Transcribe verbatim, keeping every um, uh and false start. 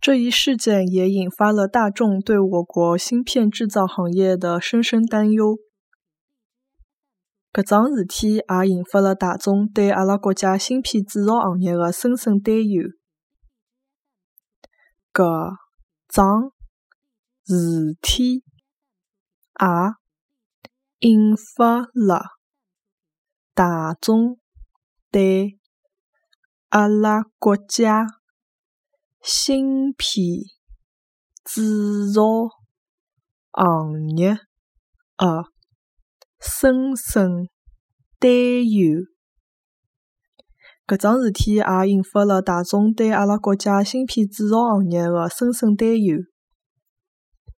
这一事件也引发了大众对我国芯片制造行业的深深担忧。搿桩事体也引发了大众对阿拉国家芯片制造行业的深深担忧。搿桩事体也引发了大众对阿拉国家芯片制造行业的深深担忧。搿桩事体也引发了大众对阿拉国家芯片制造行业的深深担忧。